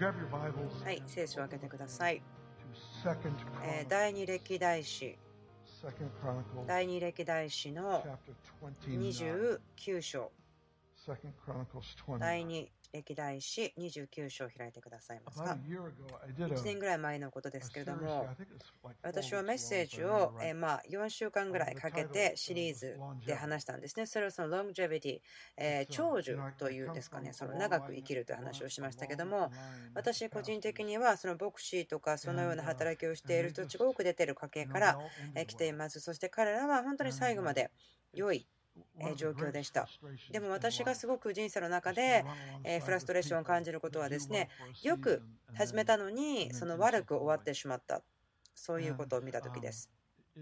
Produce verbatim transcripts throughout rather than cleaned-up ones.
はい、聖書を開けてください。えー、第二歴代史、第二歴代史のにじゅうきゅう章、第二歴代史にじゅうきゅう章を開いてくださいますか。いちねんぐらい前のことですけれども、私はメッセージを、えー、まあよんしゅうかんぐらいかけてシリーズで話したんですね。それはその longevity、えー、長寿というんですかね、その長く生きるという話をしましたけども、私個人的にはその牧師とかそのような働きをしている人たちが多く出ている家系から来ています。そして彼らは本当に最後まで良い状況でした。でも私がすごく人生の中でフラストレーションを感じることはですね、よく始めたのにその悪く終わってしまった、そういうことを見たときです。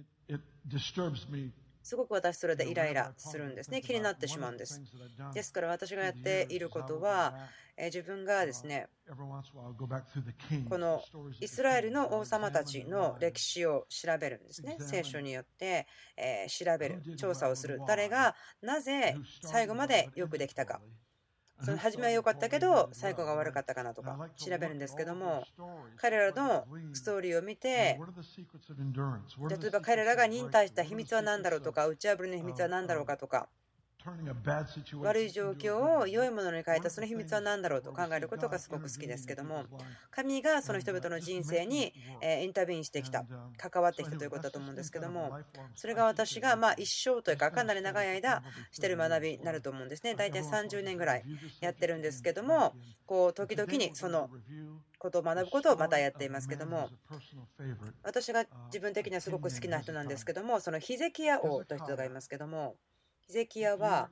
すごく私それでイライラするんですね。気になってしまうんです。ですから私がやっていることは、自分がですね、このイスラエルの王様たちの歴史を調べるんですね。聖書によって調べる、調査をする。誰がなぜ最後までよくできたか。その初めは良かったけど最後が悪かったかなとか調べるんですけども、彼らのストーリーを見て、例えば彼らが忍耐した秘密は何だろうとか、打ち破りの秘密は何だろうかとか、悪い状況を良いものに変えたその秘密は何だろうと考えることがすごく好きですけども、神がその人々の人生にインタビューしてきた、関わってきたということだと思うんですけども、それが私がまあ一生というかかなり長い間している学びになると思うんですね。大体さんじゅうねんぐらいやってるんですけども、こう時々にそのことを学ぶことをまたやっていますけども、私が自分的にはすごく好きな人なんですけども、そのヒゼキヤ王という人がいますけども、ヒゼキヤは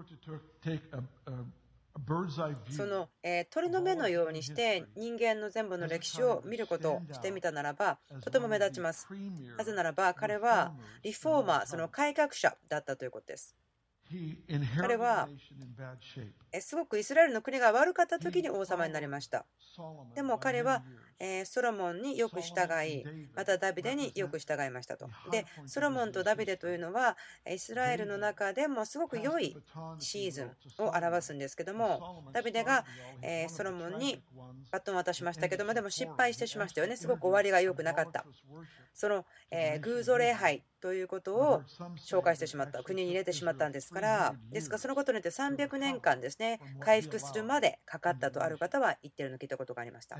その、えー、鳥の目のようにして人間の全部の歴史を見ることをしてみたならばとても目立ちます。なぜならば彼はリフォーマー、その改革者だったということです。彼はすごくイスラエルの国が悪かった時に王様になりました。でも彼はソロモンによく従い、またダビデによく従いましたと。で、ソロモンとダビデというのはイスラエルの中でもすごく良いシーズンを表すんですけども、ダビデがソロモンにバトンを渡しましたけども、でも失敗してしましたよね。すごく終わりが良くなかった。その偶像礼拝ということを紹介してしまった、国に入れてしまったんですから、ですからそのことによってさんびゃくねんかんですね、回復するまでかかったとある方は言っているのを聞いたことがありました。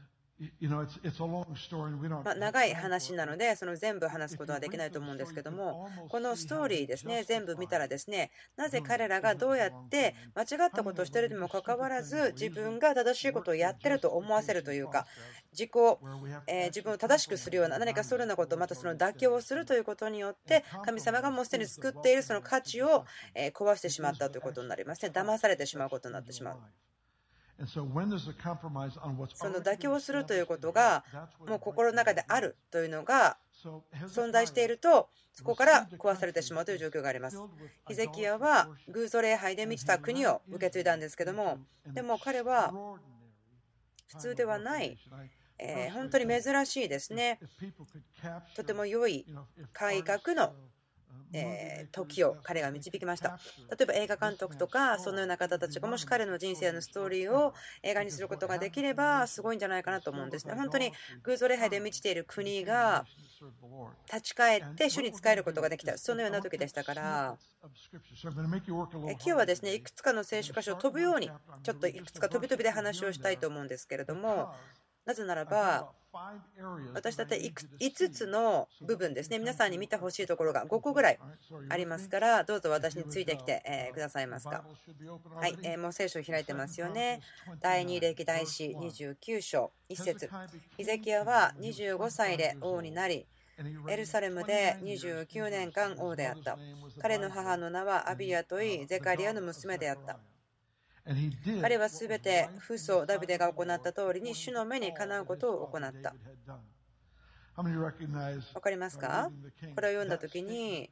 まあ、長い話なのでその全部話すことはできないと思うんですけども、このストーリーですね、全部見たらですね、なぜ彼らがどうやって間違ったことをしているにもかかわらず自分が正しいことをやってると思わせるというか、自己、えー、自分を正しくするような何かそういうようなこと、またその妥協をするということによって神様がもうすでに作っているその価値を壊してしまったということになりますね。騙されてしまうことになってしまう。その妥協するということがもう心の中であるというのが存在していると、そこから壊されてしまうという状況があります。ヒゼキヤは偶像礼拝で満ちた国を受け継いだんですけども、でも彼は普通ではない、えー、本当に珍しいですね、とても良い改革のえー、時を彼が導きました。例えば映画監督とかそのような方たちがもし彼の人生のストーリーを映画にすることができればすごいんじゃないかなと思うんですね。本当に偶像礼拝で満ちている国が立ち返って主に仕えることができた、そのような時でしたから、今日はですね、いくつかの聖書箇所を飛ぶようにちょっといくつか飛び飛びで話をしたいと思うんですけれども、なぜならば私だっていつつの部分ですね、皆さんに見てほしいところがごこぐらいありますから、どうぞ私についてきてくださいますか。はい、もう聖書を開いてますよね。第二歴代史にじゅうきゅう章いち節、ヒゼキヤはにじゅうごさいで王になり、エルサレムでにじゅうきゅうねんかん王であった。彼の母の名はアビヤといい、ゼカリアの娘であった。彼はすべて父祖ダビデが行った通りに主の目にかなうことを行った。 わかりますか？これを読んだときに、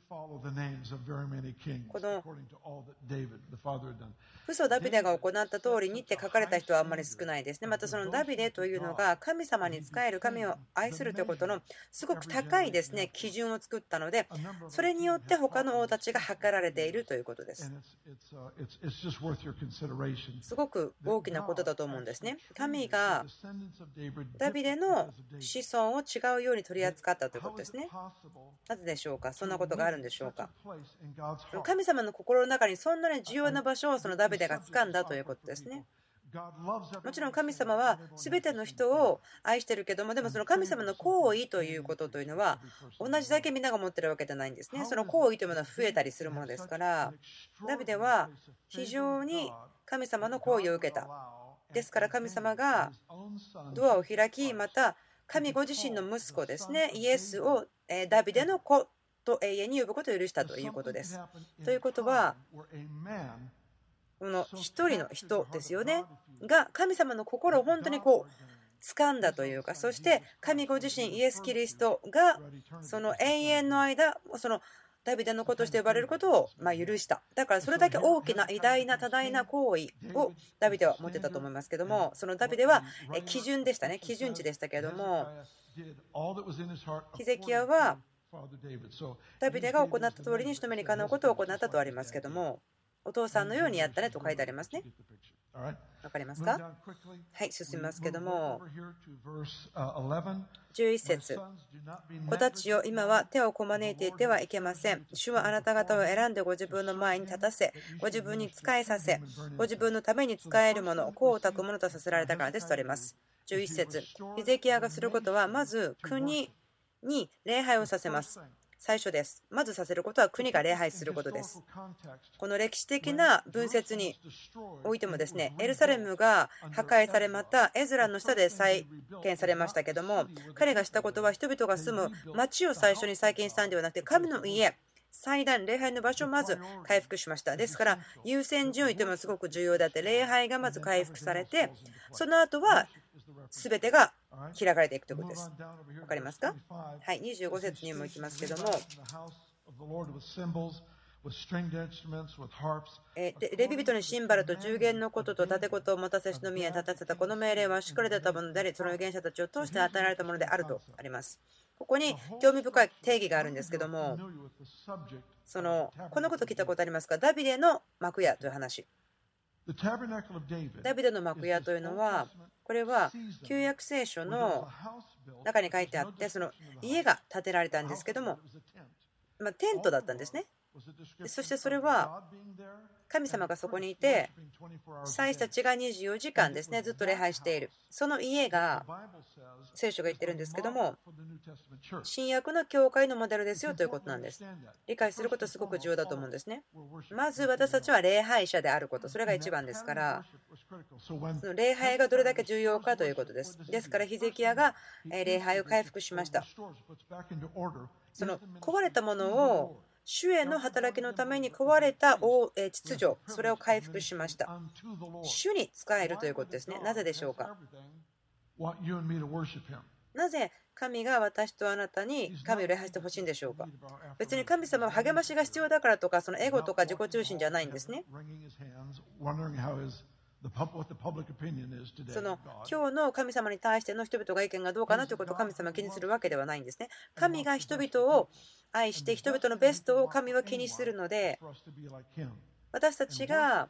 この父祖ダビデが行った通りにって書かれた人はあんまり少ないですね。またそのダビデというのが神様に仕える、神を愛するということのすごく高いですね基準を作ったので、それによって他の王たちが測られているということです。すごく大きなことだと思うんですね。神がダビデの子孫を違うように取り扱ったということですね。なぜでしょうか？そんなことがあるんでしょうか？神様の心の中にそんなに重要な場所をそのダビデが掴んだということですね。もちろん神様は全ての人を愛しているけども、でもその神様の行為ということというのは同じだけみんなが持っているわけじゃないんですね。その行為というものは増えたりするものですから、ダビデは非常に神様の行為を受けた。ですから神様がドアを開き、また神ご自身の息子ですね、イエスをダビデの子と永遠に呼ぶことを許したということです。ということは、この一人の人ですよねが神様の心を本当にこう掴んだというか、そして神ご自身イエス・キリストがその永遠の間そのダビデの子として呼ばれることをま許した。だからそれだけ大きな偉大な多大な行為をダビデは持ってたと思いますけども、そのダビデは基準でしたね、基準値でしたけれども、ヒゼキヤはダビデが行った通りに人目にかなうことを行ったとありますけども、お父さんのようにやったねと書いてありますね。わかりますか？はい、進みますけども、じゅういち節、子たちよ、今は手をこまねいていてはいけません。主はあなた方を選んでご自分の前に立たせ、ご自分に仕えさせ、ご自分のために仕えるもの、功をたくものとさせられたからですとあります。じゅういち節、ヒゼキヤがすることは、まず国に礼拝をさせます。最初です。まずさせることは国が礼拝することです。この歴史的な文節においてもですね、エルサレムが破壊され、またエズラの下で再建されましたけども、彼がしたことは人々が住む町を最初に再建したんではなくて、神の家、祭壇、礼拝の場所をまず回復しました。ですから優先順位というのはすごく重要であって、礼拝がまず回復されて、その後は全てが開かれていくということです。わかりますか？はい、にじゅうご節にも行きますけども、えレビ人にシンバルと十弦のことと盾事を持たせしの宮に立たせたこの命令はしっかり出たものであり、その預言者たちを通して与えられたものであるとあります。ここに興味深い定義があるんですけども、そのこのこと聞いたことありますか？ダビデの幕屋という話。ダビデの幕屋というのは、これは旧約聖書の中に書いてあって、その家が建てられたんですけども、まあ、テントだったんですね。そしてそれは神様がそこにいて、祭司たちがにじゅうよじかんですねずっと礼拝している、その家が聖書が言ってるんですけども、新約の教会のモデルですよということなんです。理解することすごく重要だと思うんですね。まず私たちは礼拝者であること、それが一番ですから、その礼拝がどれだけ重要かということです。ですからヒゼキヤが礼拝を回復しました。その壊れたものを主への働きのために壊れた秩序、それを回復しました。主に仕えるということですね。なぜでしょうか？なぜ神が私とあなたに神を礼拝してほしいんでしょうか？別に神様は励ましが必要だからとか、そのエゴとか自己中心じゃないんですね。その今日の神様に対しての人々が意見がどうかなということを神様は気にするわけではないんですね。神が人々を愛して人々のベストを神は気にするので、私たちが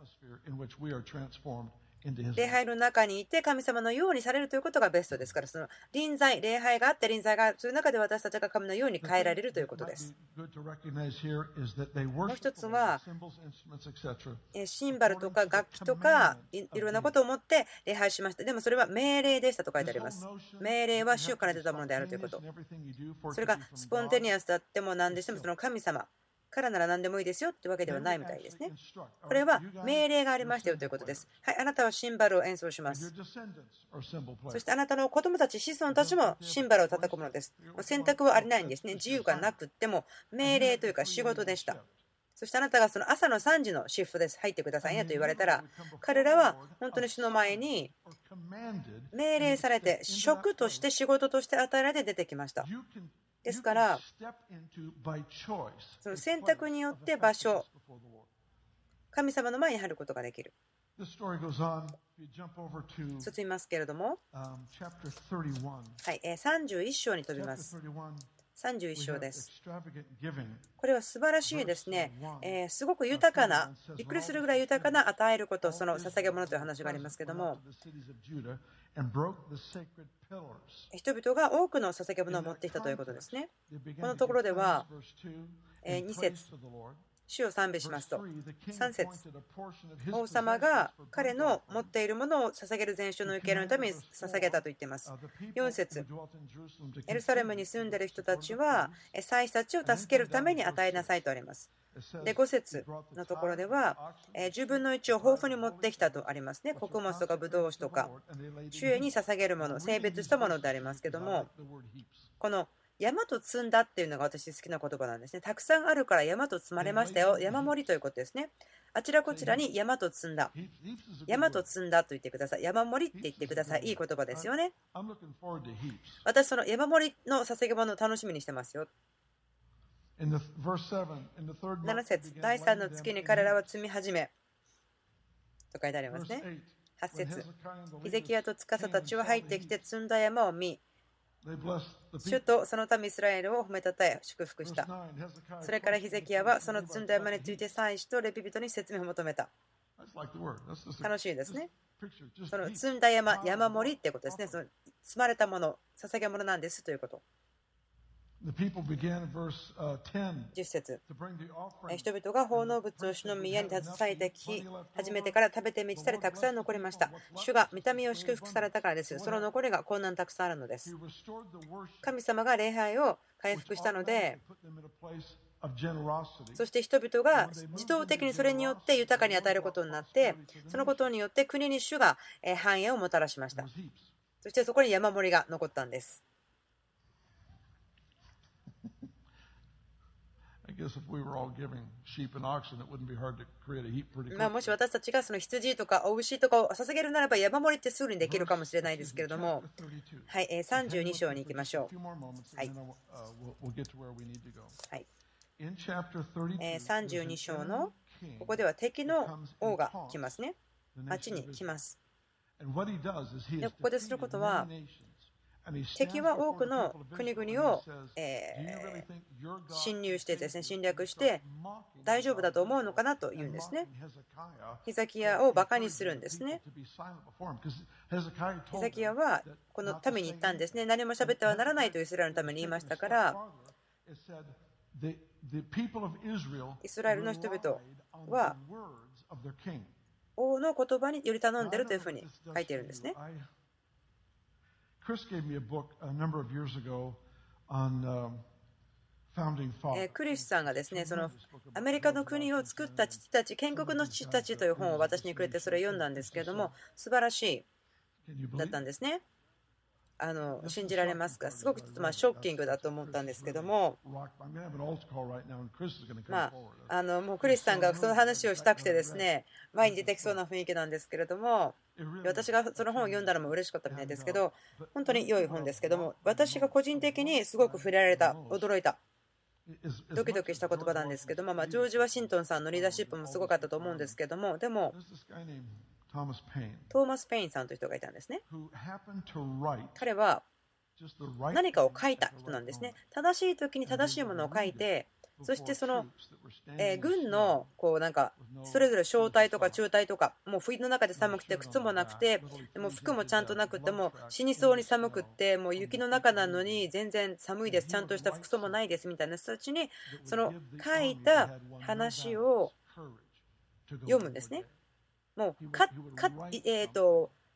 礼拝の中にいて神様のようにされるということがベストですから、その臨在、礼拝があって臨在がある、そういう中で私たちが神のように変えられるということです。もう一つはシンバルとか楽器とかいろんなことを持って礼拝しました。でもそれは命令でしたと書いてあります。命令は主から出たものであるということ。それがスポンテニアスだっても何でしても、その神様からなら何でもいいですよってわけではないみたいですね。これは命令がありましたよということです。はい、あなたはシンバルを演奏します。そしてあなたの子供たち、子孫たちもシンバルを叩くものです。選択はありないんですね。自由がなくっても命令というか仕事でした。 そしてあなたがその朝のさんじのシフトです、入ってくださいねと言われたら、彼らは本当に主の前に命令されて、職として仕事として与えられて出てきました。ですから、その選択によって場所、神様の前に入ることができる。進みますけれども、はい、さんじゅういっ章に飛びます。さんじゅういっ章です。これは素晴らしいですね。えー、すごく豊かな、びっくりするぐらい豊かな与えること、その捧げ物という話がありますけれども、人々が多くの捧げ物を持ってきたということですね。このところでは、えー、に節、主を賛美しますと、さん節、王様が彼の持っているものを捧げる全焼の受け入れのために捧げたと言っています。よん節、エルサレムに住んでいる人たちは祭司たちを助けるために与えなさいとあります。でご節のところでは、じゅうぶんのいちを豊富に持ってきたとありますね。穀物とかブドウ酒とか、主へに捧げるもの、性別したものでありますけども、この山と積んだっていうのが私好きな言葉なんですね。たくさんあるから山と積まれましたよ。山盛りということですね。あちらこちらに山と積んだ。山と積んだと言ってください。山盛りって言ってください。いい言葉ですよね。私、その山盛りの捧げ物を楽しみにしてますよ。なな節、だいさんの月に彼らは積み始めと書いてありますね。はち節、ヒゼキヤと司たちは入ってきて積んだ山を見、主とその民イスラエルを褒めたたえ祝福した。それからヒゼキヤはその積んだ山について祭司とレビ人に説明を求めた。楽しいですね。その積んだ山、山盛りってことですね。その積まれたもの、捧げ物なんですということ。じゅっ節、人々が奉納物を主の宮に携えてき始めてから食べて満ちたりたくさん残りました。主が御民を祝福されたからです。その残りがこんなにたくさんあるのです。神様が礼拝を回復したので、そして人々が自動的にそれによって豊かに与えることになって、そのことによって国に主が繁栄をもたらしました。そしてそこに山盛りが残ったんです。まあもし私たちがその羊とかお牛とかを捧げるならば山盛りってすぐにできるかもしれないですけれども、はい、さんじゅうに章に行きましょう。はい、はい、さんじゅうに章のここでは敵の王が来ますね。町に来ます。でここですることは、敵は多くの国々を、えー、侵入してですね、侵略して大丈夫だと思うのかなというんですね。ヒゼキヤをバカにするんですね。ヒゼキヤはこの民に言ったんですね。何も喋ってはならないとイスラエルのために言いましたから、イスラエルの人々は王の言葉により頼んでいるというふうに書いているんですね。クリスさんがですね、そのアメリカの国を作った父たち、建国の父たちという本を私にくれて、それを読んだんですけれども、素晴らしいだったんですね。あの信じられますか？すごくちょっとまあショッキングだと思ったんですけども、まあ、あのもうクリスさんがその話をしたくてですね、前に出てきそうな雰囲気なんですけれども、私がその本を読んだのも嬉しかったみたいですけど、本当に良い本ですけども、私が個人的にすごく触れられた、驚いた、ドキドキした言葉なんですけども、まあ、ジョージ・ワシントンさんのリーダーシップもすごかったと思うんですけども、でもトーマス・ペインさんという人がいたんですね。彼は何かを書いた人なんですね。正しい時に正しいものを書いて、そしてその、えー、軍のこうなんかそれぞれ小隊とか中隊とか、もう冬の中で寒くて靴もなくて、でも服もちゃんとなくて、もう死にそうに寒くって、もう雪の中なのに全然寒いです、ちゃんとした服装もないですみたいな人たちにその書いた話を読むんですね。もうかか、えーと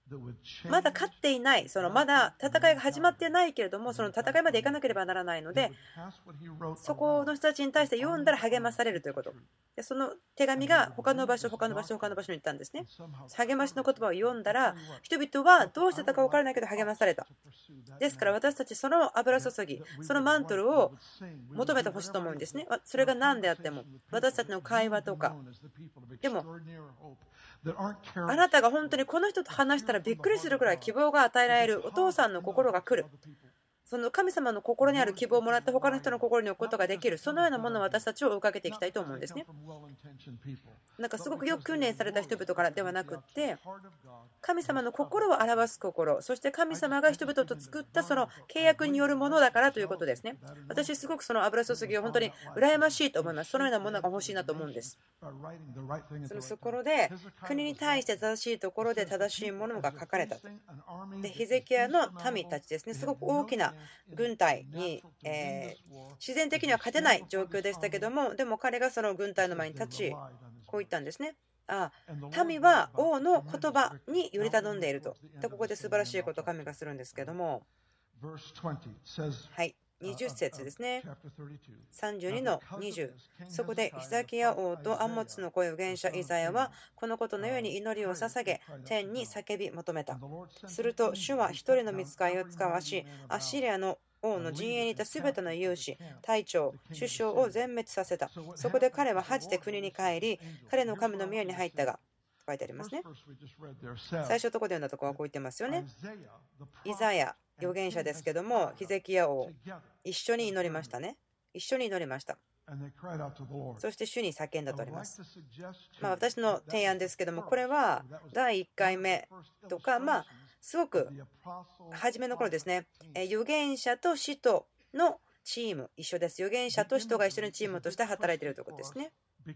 まだ勝っていない、そのまだ戦いが始まっていないけれども、その戦いまで行かなければならないので、そこの人たちに対して読んだら励まされるということ。でその手紙が他の場所、他の場所、他の場所に行ったんですね。励ましの言葉を読んだら、人々はどうしてたか分からないけど励まされた。ですから私たち、その油注ぎ、そのマントルを求めてほしいと思うんですね。それが何であっても、私たちの会話とか。でもあなたが本当にこの人と話したらびっくりするくらい希望が与えられるお父さんの心が来る。その神様の心にある希望をもらって他の人の心に置くことができる、そのようなものを私たちを追いかけていきたいと思うんですね。なんかすごくよく訓練された人々からではなくって、神様の心を表す心、そして神様が人々と作ったその契約によるものだからということですね。私すごくその油注ぎを本当に羨ましいと思います。そのようなものが欲しいなと思うんです。そのところで国に対して正しいところで正しいものが書かれたと。でヒゼキヤの民たちですね、すごく大きな軍隊に、えー、自然的には勝てない状況でしたけども、でも彼がその軍隊の前に立ち、こう言ったんですね。ああ、民は王の言葉により頼んでいると。でここで素晴らしいことを神がするんですけども、はい、にじゅっ節ですね。さんじゅうにのにじゅう。そこでヒザキヤ王とアンモツの子預言者イザヤはこのことのように祈りを捧げ、天に叫び求めた。すると主は一人の御使いを使わし、アッシリアの王の陣営にいたすべての勇士、隊長、首相を全滅させた。そこで彼は恥じて国に帰り、彼の神の宮に入ったが、書いてありますね。最初のところで読んだところはこう言ってますよね。イザヤ預言者ですけども、ヒゼキヤ王、一緒に祈りましたね。一緒に祈りました。そして主に叫んだとあります。まあ、私の提案ですけども、これはだいいっかいめとか、まあ、すごく初めの頃ですね、預言者と使徒のチーム、一緒です。預言者と使徒が一緒にチームとして働いているということですね。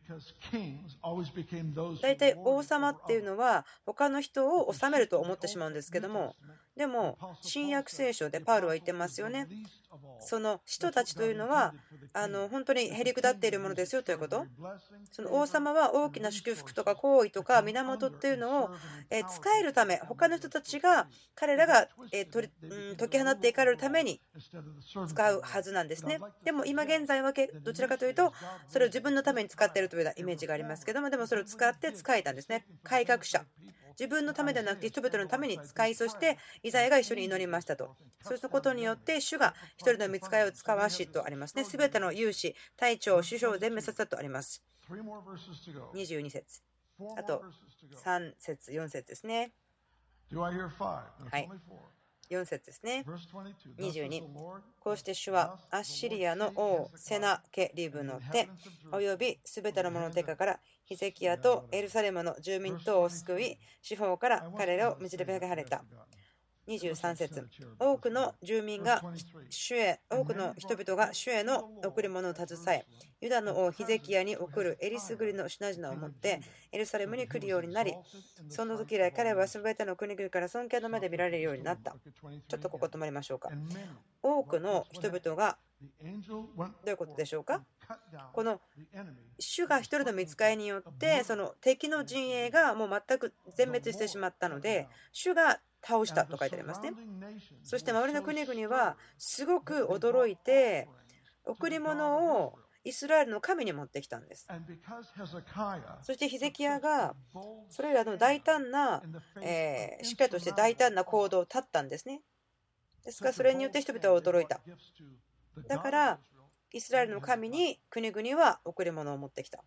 大体王様っていうのは他の人を治めると思ってしまうんですけども、でも新約聖書でパウロは言ってますよね。その使徒たちというのはあの本当にへりくだっているものですよということ。その王様は大きな祝福とか行為とか源っていうのを使えるため、他の人たちが彼らが解き放っていかれるために使うはずなんですね。でも今現在はどちらかというとそれを自分のために使っているというようなイメージがありますけども、でもそれを使って使えたんですね。改革者、自分のためではなくて人々のために使い、そしてイザヤが一緒に祈りましたと。そうすることによって主が一人の御使いを使わしとありますね。すべての勇士、隊長、首相を全滅させたとあります。にじゅうに節、あとさん節、よん節ですね。はい、よん節ですね。にじゅうに。こうして主はアッシリアの王セナケリブの手およびすべての者の手からヒゼキヤとエルサレムの住民等を救い、四方から彼らを導かれた。にじゅうさん節。多くの住民が主へ、多くの人々が主への贈り物を携え、ユダの王ヒゼキヤに送るえりすぐりの品々を持ってエルサレムに来るようになり、その時以来彼はすべての国々から尊敬の目で見られるようになった。ちょっとここ止まりましょうか。多くの人々がどういうことでしょうか。この主が一人の御使いによってその敵の陣営がもう全く全滅してしまったので、主が倒したと書いてありますね。そして周りの国々はすごく驚いて贈り物をイスラエルの神に持ってきたんです。そしてヒゼキヤがそれらの大胆な、えー、しっかりとして大胆な行動をとったんですね。ですからそれによって人々は驚いた。だからイスラエルの神に国々は贈り物を持ってきた。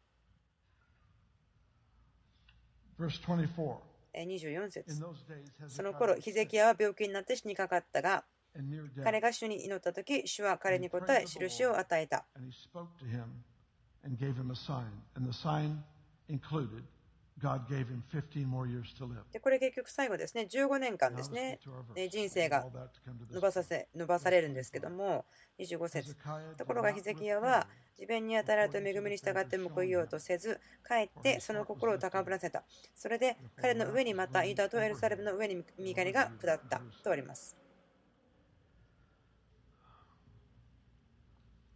にじゅうよん節。その頃ヒゼキヤは病気になって死にかかったが、彼が主に祈った時、主は彼に答え印を与えた。でこれ結局最後ですね、じゅうごねんかんですね、人生が伸ばさせ伸ばされるんですけども、にじゅうご節。ところがヒゼキヤは自分に与えられた恵みに従って報いようとせず、かえってその心を高ぶらせた。それで彼の上にまたユダとエルサレムの上に身狩りが下ったとあります。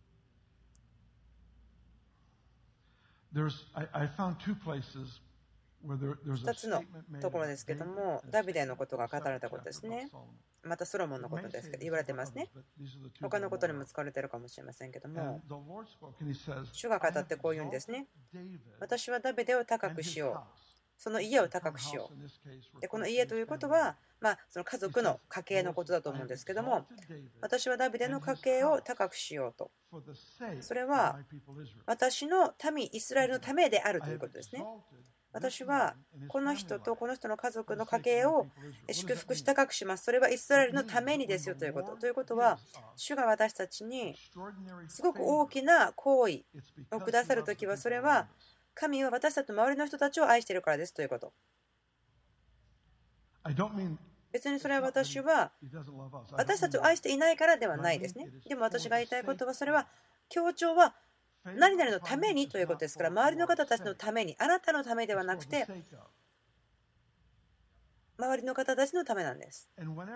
There's, I, I found two places ふたつのところですけども、ダビデのことが語られたことですね。またソロモンのことですけど言われてますね。他のことにも使われているかもしれませんけども、主が語ってこう言うんですね。私はダビデを高くしよう。その家を高くしよう。でこの家ということは、まあ、その家族の家系のことだと思うんですけども、私はダビデの家系を高くしようと。それは私の民イスラエルのためであるということですね。私はこの人とこの人の家族の家系を祝福し高くします。それはイスラエルのためにですよということ。ということは、主が私たちにすごく大きな行為をくださるときは、それは神は私たちの周りの人たちを愛しているからですということ。別にそれは私は私たちを愛していないからではないですね。でも私が言いたいことは、それは強調は何々のためにということですから、周りの方たちのために、あなたのためではなくて周りの方たちのためなんです。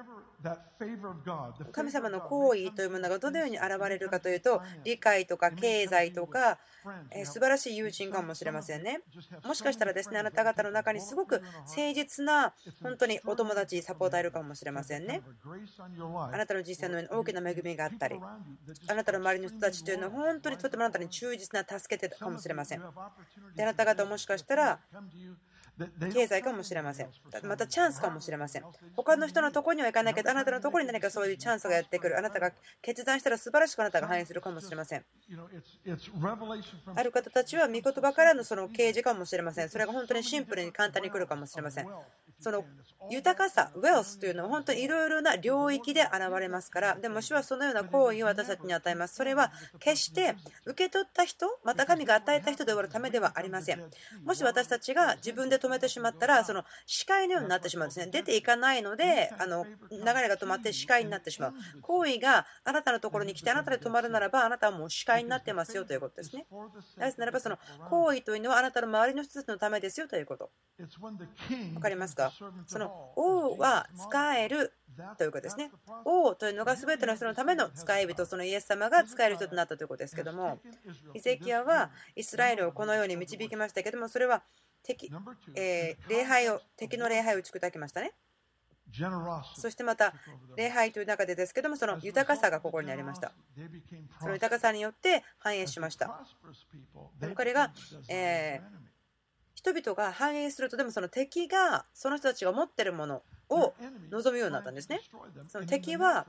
神様の行為というものがどのように現れるかというと、理解とか経済とか、えー、素晴らしい友人かもしれませんね。もしかしたらですね、あなた方の中にすごく誠実な本当にお友達、サポーターいるかもしれませんね。あなたの人生の上に大きな恵みがあったり、あなたの周りの人たちというのは本当にとてもあなたに忠実な助けてかもしれません。で、あなた方もしかしたら経済かもしれません。またチャンスかもしれません。他の人のところには行かないけど、あなたのところに何かそういうチャンスがやってくる。あなたが決断したら素晴らしくあなたが反映するかもしれません。ある方たちは御言葉からのその啓示かもしれません。それが本当にシンプルに簡単に来るかもしれません。その豊かさ、ウェルスというのは本当にいろいろな領域で現れますから、でも主はそのような行為を私たちに与えます。それは決して受け取った人、また神が与えた人で終わるためではありません。もし私たちが自分で止めてしまったら、その視界のようになってしまうんですね。出ていかないので、あの流れが止まって視界になってしまう。行為があなたのところに来てあなたで止まるならば、あなたはもう視界になってますよということですね。なぜならば、その行為というのはあなたの周りの人たちのためですよということ。わかりますか？その王は使えるということですね。王というのが全ての人のための使い人、そのイエス様が使える人となったということですけども、ヒゼキヤはイスラエルをこのように導きましたけども、それは敵、えー、礼拝を敵の礼拝を打ち砕きましたね。そしてまた礼拝という中でですけども、その豊かさがここにありました。その豊かさによって繁栄しました。でも彼が、えー人々が繁栄すると、でもその敵がその人たちが持っているものを望むようになったんですね。その敵は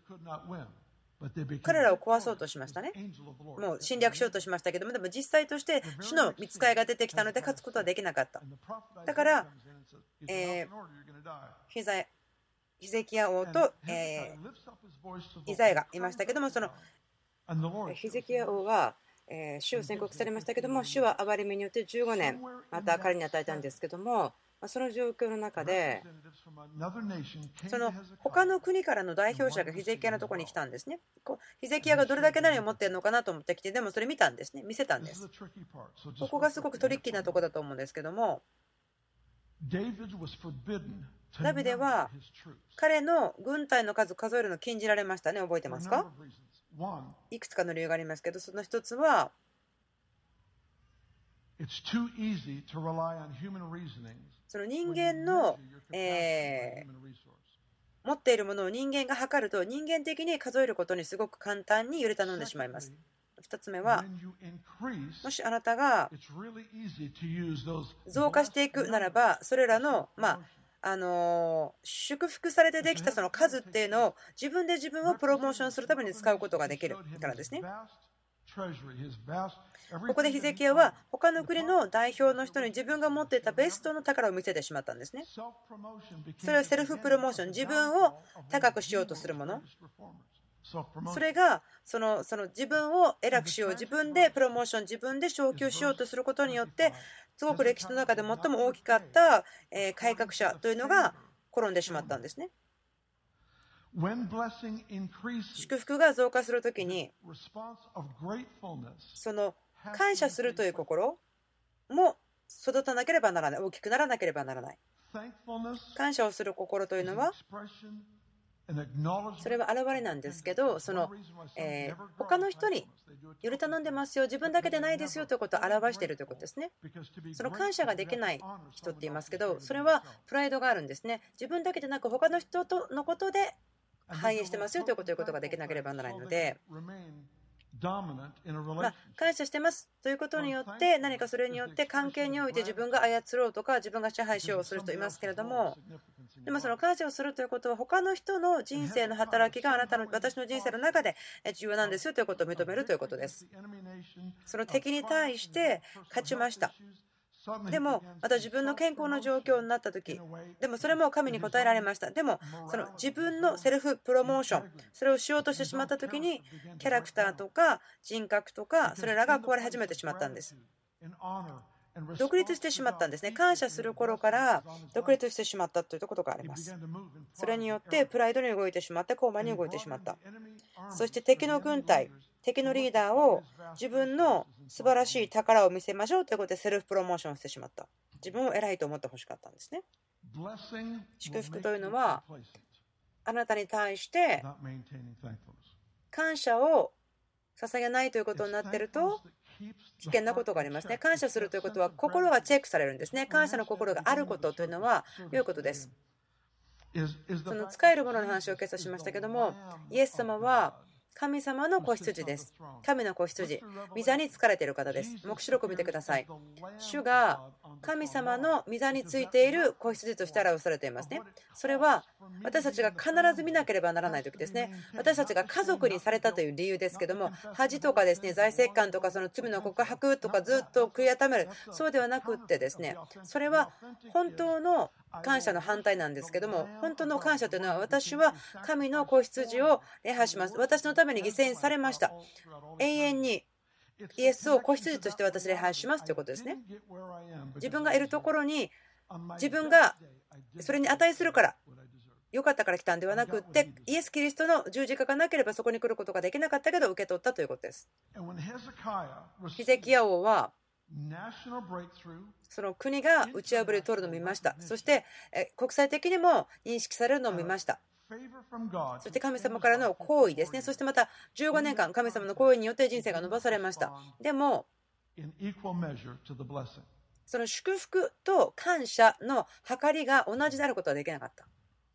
彼らを壊そうとしましたね。もう侵略しようとしましたけども、でも実際として主の御使いが出てきたので勝つことはできなかった。だから、えー、ヒザヒゼキヤ王と、えー、イザヤがいましたけども、そのヒゼキヤ王はえー、主を宣告されましたけども、主は憐れみによってじゅうごねんまた彼に与えたんですけども、その状況の中でその他の国からの代表者がヒゼキヤのところに来たんですね。ヒゼキヤがどれだけ何を持っているのかなと思ってきて、でもそれ見たんですね、見せたんです。ここがすごくトリッキーなところだと思うんですけども、ダビデは彼の軍隊の数数えるのを禁じられましたね。覚えてますか？いくつかの理由がありますけど、その一つはその人間の、えー、持っているものを人間が測ると、人間的に数えることにすごく簡単により頼んでしまいます。ふたつめは、もしあなたが増加していくならば、それらのまああの祝福されてできたその数っていうのを自分で自分をプロモーションするために使うことができるからですね。ここでヒゼキヤは他の国の代表の人に自分が持っていたベストの宝を見せてしまったんですね。それはセルフプロモーション、自分を高くしようとするもの。それがそのその自分を偉くしよう、自分でプロモーション、自分で昇給しようとすることによって、すごく歴史の中で最も大きかった改革者というのが転んでしまったんですね。祝福が増加するときに、その感謝するという心も育たなければならない、大きくならなければならない。感謝をする心というのは、それは現れなんですけど、その、えー、他の人により頼んでますよ、自分だけでないですよということを表しているということですね。その感謝ができない人って言いますけど、それはプライドがあるんですね。自分だけでなく他の人とのことで反映してますよということを言うことができなければならないので、まあ、感謝してますということによって何かそれによって関係において自分が操ろうとか自分が支配しようとする人いますけれども、でもその感謝をするということは他の人の人生の働きがあなたの私の人生の中で重要なんですよということを認めるということです。その敵に対して勝ちました。でもまた自分の健康の状況になった時、でもそれも神に応えられました。でもその自分のセルフプロモーション、それをしようとしてしまった時にキャラクターとか人格とかそれらが壊れ始めてしまったんです。独立してしまったんですね。感謝する頃から独立してしまったということがあります。それによってプライドに動いてしまって高慢に動いてしまった。そして敵の軍隊、敵のリーダーを自分の素晴らしい宝を見せましょうということでセルフプロモーションしてしまった。自分を偉いと思ってほしかったんですね。祝福というのはあなたに対して感謝を捧げないということになっていると危険なことがありますね。感謝するということは心がチェックされるんですね。感謝の心があることというのは良いことです。その使えるものの話を今朝しましたけども、イエス様は神様の子羊です。神の子羊、御座に疲れている方です。黙示録を見てください。主が神様の御座についている子羊として表されていますね。それは私たちが必ず見なければならない時ですね。私たちが家族にされたという理由ですけども、恥とかですね、財政官とかその罪の告白とかずっと悔い改める、そうではなくってですね、それは本当の感謝の反対なんですけども、本当の感謝というのは私は神の子羊を礼拝します。私のために犠牲にされました。永遠にイエスを子羊として私礼拝しますということですね。自分がいるところに自分がそれに値するから良かったから来たんではなくって、イエス・キリストの十字架がなければそこに来ることができなかったけど受け取ったということです。ヒゼキヤ王はその国が打ち破りを取るのを見ました。そして国際的にも認識されるのを見ました。そして神様からの行為ですね。そしてまたじゅうごねんかん神様の行為によって人生が伸ばされました。でもその祝福と感謝の計りが同じであることはできなかった。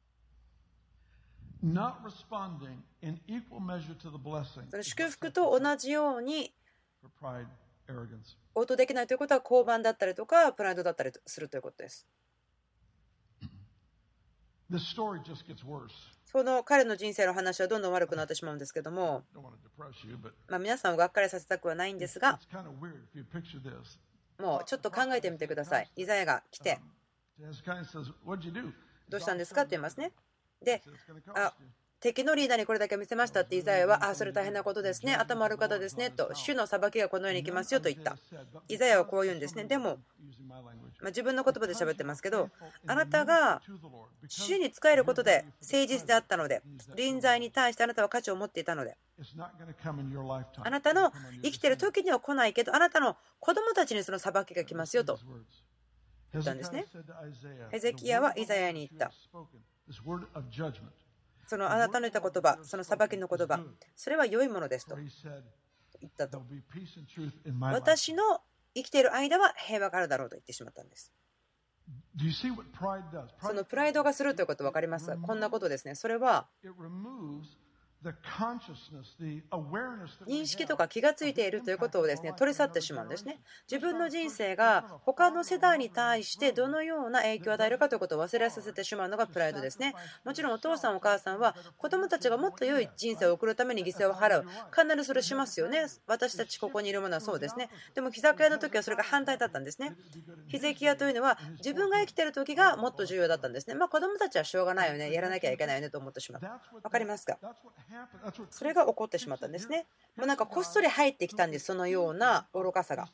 その祝福と同じように応答できないということは傲慢だったりとかプライドだったりするということです。その彼の人生の話はどんどん悪くなってしまうんですけども、まあ皆さんをがっかりさせたくはないんですが、もうちょっと考えてみてください。イザヤが来てどうしたんですかって言いますね。で、あ敵のリーダーにこれだけ見せましたってイザヤは、あ、それ大変なことですね、頭悪い方ですねと、主の裁きがこのようにいきますよと言った。イザヤはこう言うんですね。でも、まあ、自分の言葉で喋ってますけど、あなたが主に仕えることで誠実であったので、臨在に対してあなたは価値を持っていたので、あなたの生きている時には来ないけど、あなたの子供たちにその裁きが来ますよと言ったんですね。ヘゼキヤはイザヤに言った。そのあなたの言った言葉、その裁きの言葉、それは良いものですと言ったと。私の生きている間は平和があるだろうと言ってしまったんです。そのプライドがするということ分かりますか？こんなことですね。それは認識とか気がついているということをですね取り去ってしまうんですね。自分の人生が他の世代に対してどのような影響を与えるかということを忘れさせてしまうのがプライドですね。もちろんお父さんお母さんは子供たちがもっと良い人生を送るために犠牲を払う、必ずそれしますよね。私たちここにいるものはそうですね。でもヒゼキヤの時はそれが反対だったんですね。ヒゼキヤというのは自分が生きている時がもっと重要だったんですね。まあ子供たちはしょうがないよね、やらなきゃいけないよねと思ってしまう。分かりますか？それが起こってしまったんですね。もうなんかこっそり入ってきたんです。そのような愚かさが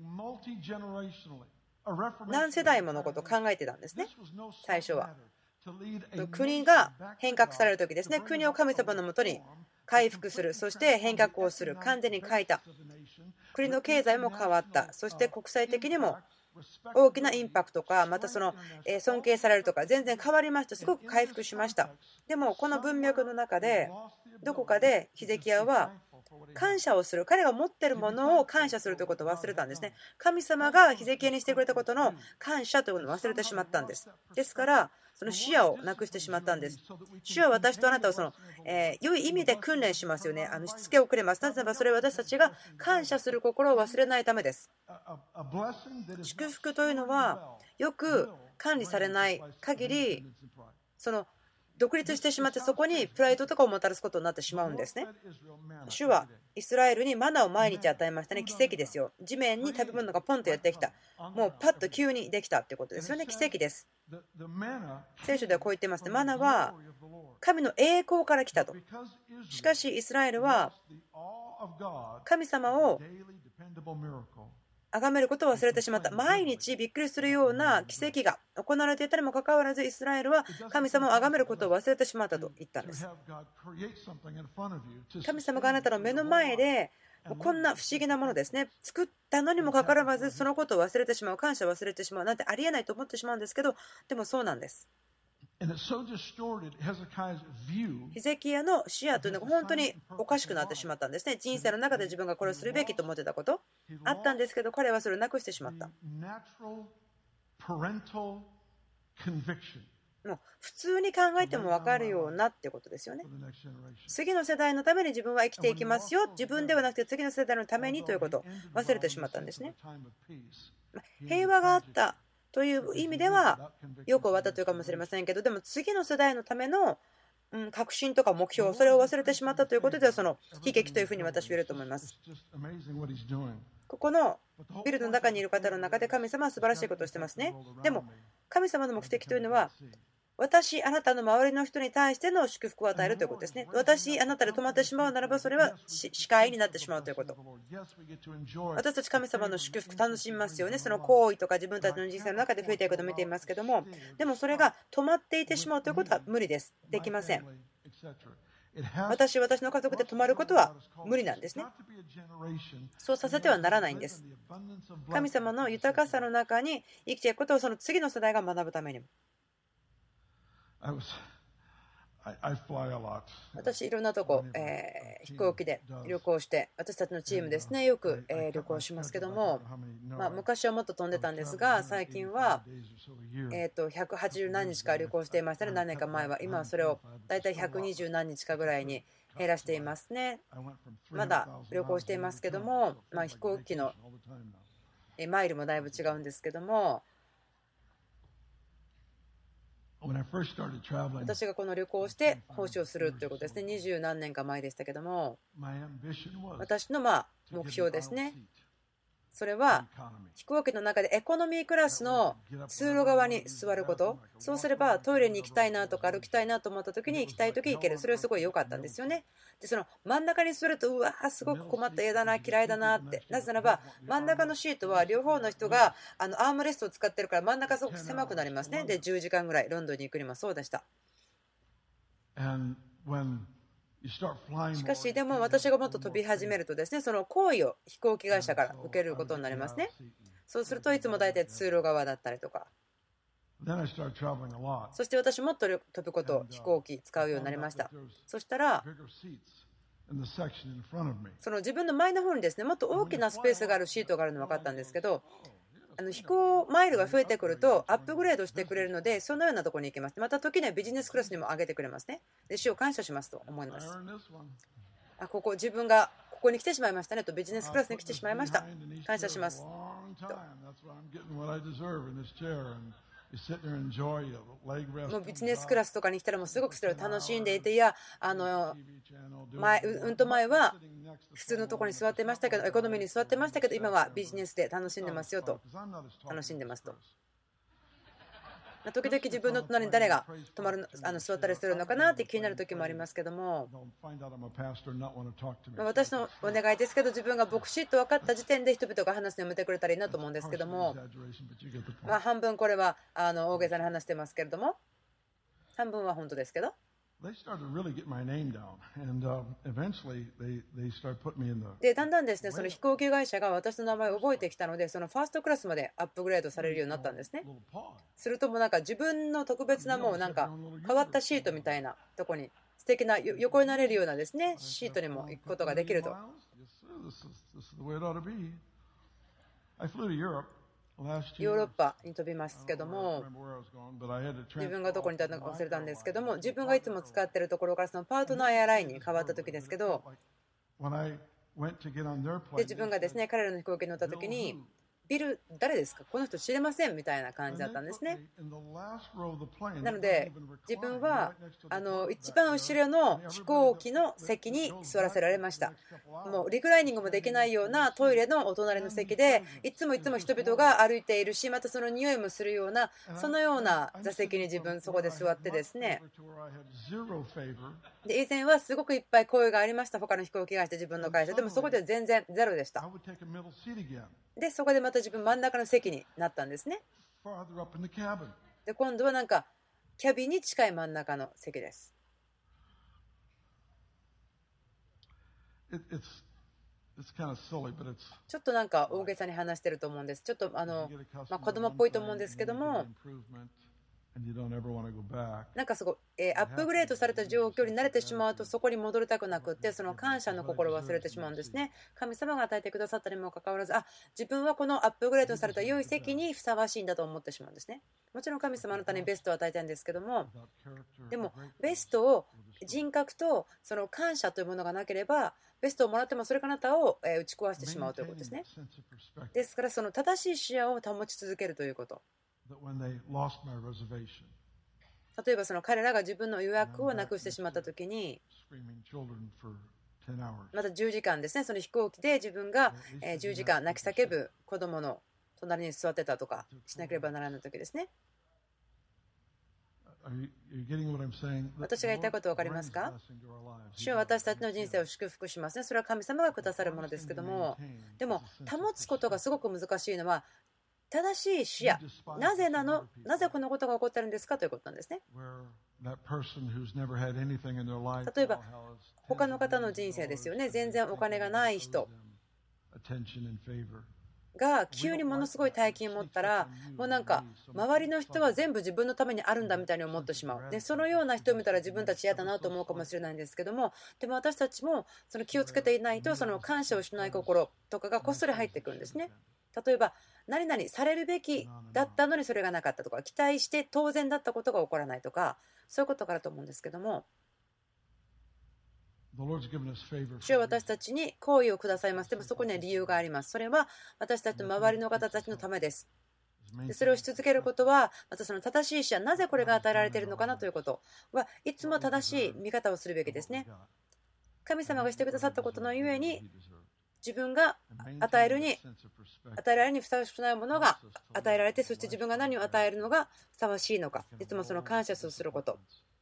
何世代ものことを考えてたんですね。最初は国が変革される時ですね。国を神様のもとに回復する、そして変革をする、完全に変えた。国の経済も変わった。そして国際的にも大きなインパクトか、またその尊敬されるとか全然変わりました。すごく回復しました。でもこの文脈の中でどこかでヒゼキヤは感謝をする。彼が持っているものを感謝するということを忘れたんですね。神様がヒゼキヤにしてくれたことの感謝ということを忘れてしまったんです。ですから、その視野をなくしてしまったんです。主は私とあなたをその、えー、良い意味で訓練しますよね。あのしつけをくれます。なぜならばそれは私たちが感謝する心を忘れないためです。祝福というのはよく管理されない限り、その独立してしまってそこにプライドとかをもたらすことになってしまうんですね。主はイスラエルにマナを毎日与えましたね。奇跡ですよ。地面に食べ物がポンとやってきた。もうパッと急にできたということですよね。奇跡です。聖書ではこう言ってますね。マナは神の栄光から来たと。しかしイスラエルは神様を崇めることを忘れてしまった。毎日びっくりするような奇跡が行われていたにもかかわらず、イスラエルは神様を崇めることを忘れてしまったと言ったんです。神様があなたの目の前でこんな不思議なものですね、作ったのにもかかわらずそのことを忘れてしまう、感謝を忘れてしまうなんてありえないと思ってしまうんですけど、でもそうなんです。ヒゼキヤの視野というのが本当におかしくなってしまったんですね。人生の中で自分がこれをするべきと思ってたことあったんですけど、彼はそれをなくしてしまった。もう普通に考えても分かるようなってことですよね。次の世代のために自分は生きていきますよ、自分ではなくて次の世代のためにということを忘れてしまったんですね。平和があったという意味ではよく終わったというかもしれませんけど、でも次の世代のための確信とか目標、それを忘れてしまったということでは、その悲劇というふうに私は言えると思います。ここのビルの中にいる方の中で神様は素晴らしいことをしてますね。でも神様の目的というのは、私、あなたの周りの人に対しての祝福を与えるということですね。私、あなたで止まってしまうならば、それは視界になってしまうということ。私たち神様の祝福楽しみますよね。その行為とか自分たちの人生の中で増えていくことを見ていますけども、でもそれが止まっていてしまうということは無理です。できません。私、私の家族で止まることは無理なんですね。そうさせてはならないんです。神様の豊かさの中に生きていくことをその次の世代が学ぶためにも。私、いろんなとこ、えー、飛行機で旅行して、私たちのチームですね、よく、えー、旅行しますけども、まあ、昔はもっと飛んでたんですが、最近は、えー、とひゃくはちじゅう何日か旅行していましたね、何年か前は。今はそれをだいたいひゃくにじゅう何日かぐらいに減らしていますね。まだ旅行していますけども、まあ、飛行機のマイルもだいぶ違うんですけども、私がこの旅行をして奉仕をするということですね。二十何年か前でしたけども、私のまあ目標ですね。それは飛行機の中でエコノミークラスの通路側に座ること。そうすればトイレに行きたいなとか歩きたいなと思った時に行きたい時行ける。それはすごい良かったんですよね。でその真ん中に座ると、うわーすごく困った、嫌だな、嫌いだなって。なぜならば真ん中のシートは両方の人があのアームレストを使ってるから真ん中すごく狭くなりますね。でじゅうじかんぐらいロンドンに行くにもそうでした。しかしでも私がもっと飛び始めるとですね、その行為を飛行機会社から受けることになりますね。そうするといつも大体通路側だったりとか、そして私もっと飛ぶことを飛行機使うようになりました。そしたらその自分の前の方にですね、もっと大きなスペースがあるシートがあるの分かったんですけど、あの飛行マイルが増えてくるとアップグレードしてくれるので、そのようなところに行きます。また時にはビジネスクラスにも上げてくれますね。で主を感謝しますと思います。あ、ここ自分がここに来てしまいましたねと、ビジネスクラスに来てしまいました、感謝しますと。もうビジネスクラスとかに来たらもうすごくそれを楽しんでいて、いやあの前うんと前は普通のところに座ってましたけど、エコノミーに座ってましたけど、今はビジネスで楽しんでますよと、楽しんでますと。時々自分の隣に誰が泊まるあの座ったりするのかなって気になる時もありますけども、私のお願いですけど、自分が牧師と分かった時点で人々が話すのやめてくれたらいいなと思うんですけども、まあ半分これはあの大げさに話してますけれども、半分は本当ですけど。でだんだんですね、その飛行機会社が私の名前を覚えてきたので、そのファーストクラスまでアップグレードされるようになったんですね。するともうなんか自分の特別なもうなんか変わったシートみたいなとこに素敵な横になれるようなですねシートにも行くことができると。ヨーロッパに飛びますけども、自分がどこにいたのか忘れたんですけども、自分がいつも使っているところからそのパートナーエアラインに変わった時ですけど、で自分がですね彼らの飛行機に乗った時に、ビル誰ですか、この人知れませんみたいな感じだったんですね。なので自分はあの一番後ろの飛行機の席に座らせられました。もうリクライニングもできないようなトイレのお隣の席で、いつもいつも人々が歩いているし、またその匂いもするようなそのような座席に自分そこで座ってですね、で以前はすごくいっぱい声がありました、他の飛行機会社、自分の会社でもそこでは全然ゼロでした。でそこでまた自分真ん中の席になったんですね。で今度はなんかキャビンに近い真ん中の席です。ちょっとなんか大げさに話してると思うんです。ちょっとあの、まあ、子供っぽいと思うんですけども、なんかすごい、えー、アップグレードされた状況に慣れてしまうとそこに戻りたくなくって、その感謝の心を忘れてしまうんですね。神様が与えてくださったにもかかわらず、あ、自分はこのアップグレードされた良い席にふさわしいんだと思ってしまうんですね。もちろん神様あなたにベストを与えたいんですけども、でもベストを人格とその感謝というものがなければ、ベストをもらってもそれがあなたを打ち壊してしまうということですね。ですからその正しい視野を保ち続けるということ。例えばその彼らが自分の予約をなくしてしまったときに、またじゅうじかんですね、その飛行機で自分がじゅうじかん泣き叫ぶ子供の隣に座ってたとかしなければならないときですね。私が言いたいこと分かりますか？主は私たちの人生を祝福しますね。それは神様がくださるものですけども、でも保つことがすごく難しいのは正しい視野、なぜなの、なぜこのことが起こっているんですかということなんですね。例えば他の方の人生ですよね。全然お金がない人が急にものすごい大金を持ったら、もうなんか周りの人は全部自分のためにあるんだみたいに思ってしまう。でそのような人を見たら自分たち嫌だなと思うかもしれないんですけども、でも私たちもその気をつけていないと、その感謝をしない心とかがこっそり入ってくるんですね。例えば何々されるべきだったのにそれがなかったとか、期待して当然だったことが起こらないとか、そういうことからと思うんですけども、主は私たちに好意をくださいます。でもそこには理由があります。それは私たちの周りの方たちのためです。でそれをし続けることは、またその正しい視野、なぜこれが与えられているのかなということはいつも正しい見方をするべきですね。神様がしてくださったことのゆえに、自分が与えるに与えられるにふさわしくないものが与えられて、そして自分が何を与えるのがふさわしいのか、いつもその感謝すること、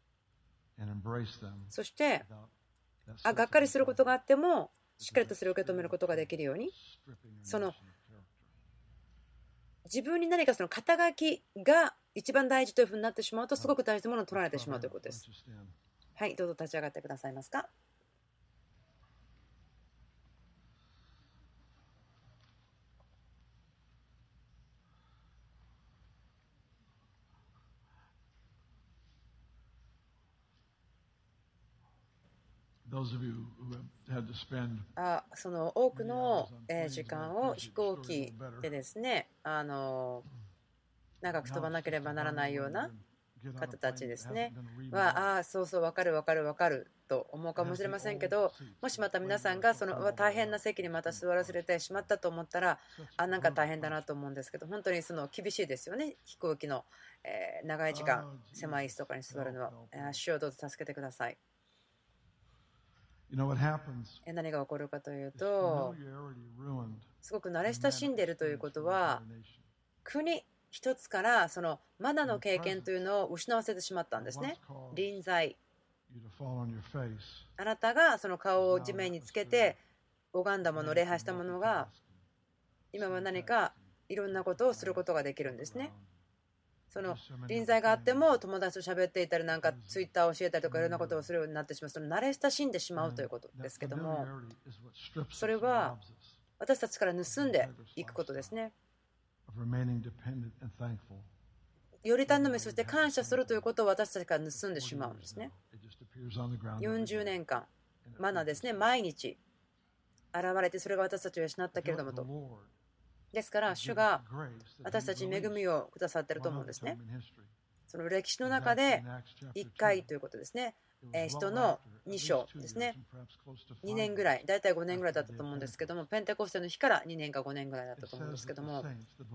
そしてあがっかりすることがあってもしっかりとそれを受け止めることができるように、その自分に何かその肩書きが一番大事というふうになってしまうと、すごく大事なものを取られてしまうということです。はい、どうぞ立ち上がってくださいますか。あその多くの時間を飛行機でですね、あの長く飛ばなければならないような方たちですねは、ああそうそう分かる分かる分かると思うかもしれませんけど、もしまた皆さんがその大変な席にまた座らせてしまったと思ったら、あなんか大変だなと思うんですけど、本当にその厳しいですよね。飛行機の長い時間狭い椅子とかに座るのは。主をどうぞ助けてください。何が起こるかというと、すごく慣れ親しんでいるということは、国一つからそのマナの経験というのを失わせてしまったんですね。臨在、あなたがその顔を地面につけて拝んだもの、礼拝したものが今は何かいろんなことをすることができるんですね。その臨在があっても友達と喋っていたり、なんかツイッターを教えたりとかいろんなことをするようになってしまう、その慣れ親しんでしまうということですけども、それは私たちから盗んでいくことですね。 より頼み、そして感謝するということを私たちから盗んでしまうんですね。よんじゅうねんかん、マナですね、毎日現れて、それが私たちを養ったけれどもと。ですから、主が私たちに恵みをくださっていると思うんですね。その歴史の中でいっかいということですね。人のに章ですね。にねんぐらい、だいたいごねんぐらいだったと思うんですけども、ペンテコステの日からにねんかごねんぐらいだったと思うんですけども、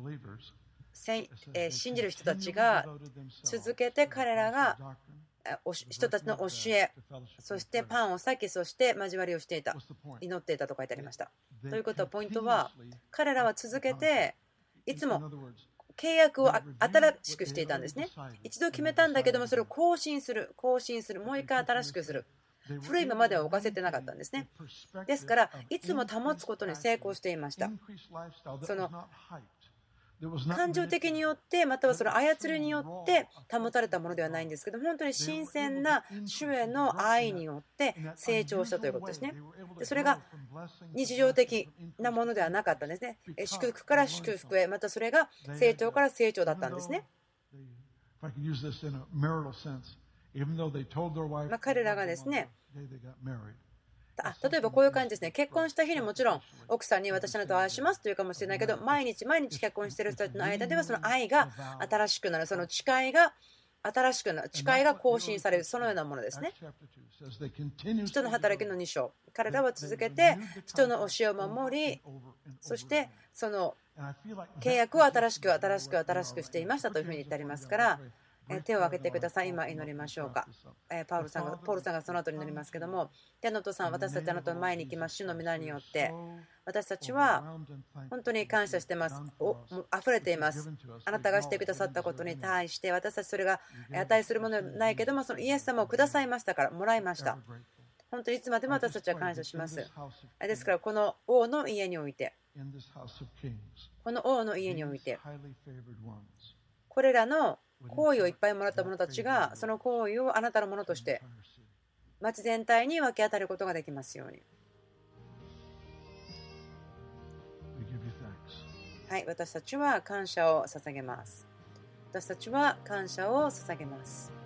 信じる人たちが続けて彼らが人たちの教え、そしてパンを裂き、そして交わりをしていた、祈っていたと書いてありました。ということは、ポイントは、彼らは続けていつも契約を新しくしていたんですね。一度決めたんだけども、それを更新する、更新する、もう一回新しくする。古いままでは置かせてなかったんですね。ですから、いつも保つことに成功していました。その感情的によって、またはその操りによって保たれたものではないんですけど、本当に新鮮な主への愛によって成長したということですね。でそれが日常的なものではなかったんですね。祝福から祝福へ、またそれが成長から成長だったんですね。まあ、彼らがですね、あ例えばこういう感じですね。結婚した日にもちろん奥さんに私あなたを愛しますというかもしれないけど、毎日毎日結婚している人たちの間ではその愛が新しくなる、その誓いが新しくなる、誓いが更新される、そのようなものですね。人の働きのに章、彼らは続けて人の教えを守り、そしてその契約を新しく新しく新しくしていましたというふうに言ってありますから、手を挙げてください。今祈りましょうか。パウルさんがポールさんがその後に祈りますけども、天のお父さん、私たちあなたの前に行きます。主の皆によって私たちは本当に感謝しています。お溢れています。あなたがしてくださったことに対して私たちそれが値するものではないけども、そのイエス様をくださいましたから、もらいました。本当にいつまでも私たちは感謝します。ですからこの王の家において、この王の家においてこれらの行為をいっぱいもらった者たちがその行為をあなたのものとして町全体に分け与えることができますように。はい、私たちは感謝を捧げます。私たちは感謝を捧げます。